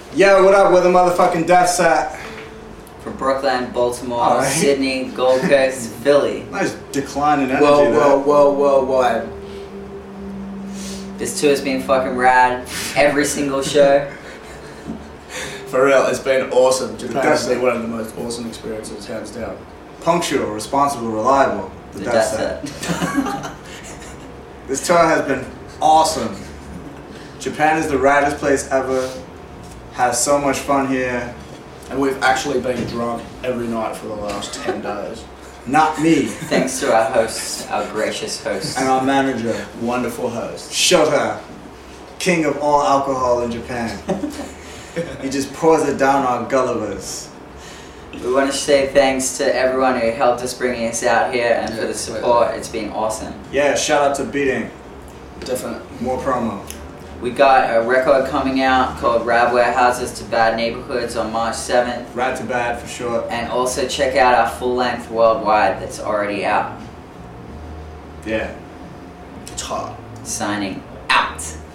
Yo, what up with the motherfucking Death Set? From Brooklyn, Baltimore, All right. Sydney, Gold Coast, Philly. Nice decline in energy Whoa. This tour's been fucking rad. Every single show. For real, it's been awesome. Japan's Definitely. been one of the most awesome experiences, hands down. Punctual, responsible, reliable. The The Death Death Set. Set. This tour has been awesome. Japan is the raddest place ever. Has so much fun here. And we've actually been drunk every night for the last 10 days. Not me. Thanks to our hosts, our gracious hosts. And our manager, Wonderful host. Shota, king of all alcohol in Japan. He just pours it down our Gullivers. We want to say thanks to everyone who helped us bringing us out here and for the support. It's been awesome. Yeah, shout out to Beating. Definitely. More promo. We got a record coming out called Rad Warehouses to Bad Neighborhoods on March 7th. Rad to Bad for sure. And also check out our full length Worldwide that's already out. Yeah. It's hot. Signing out.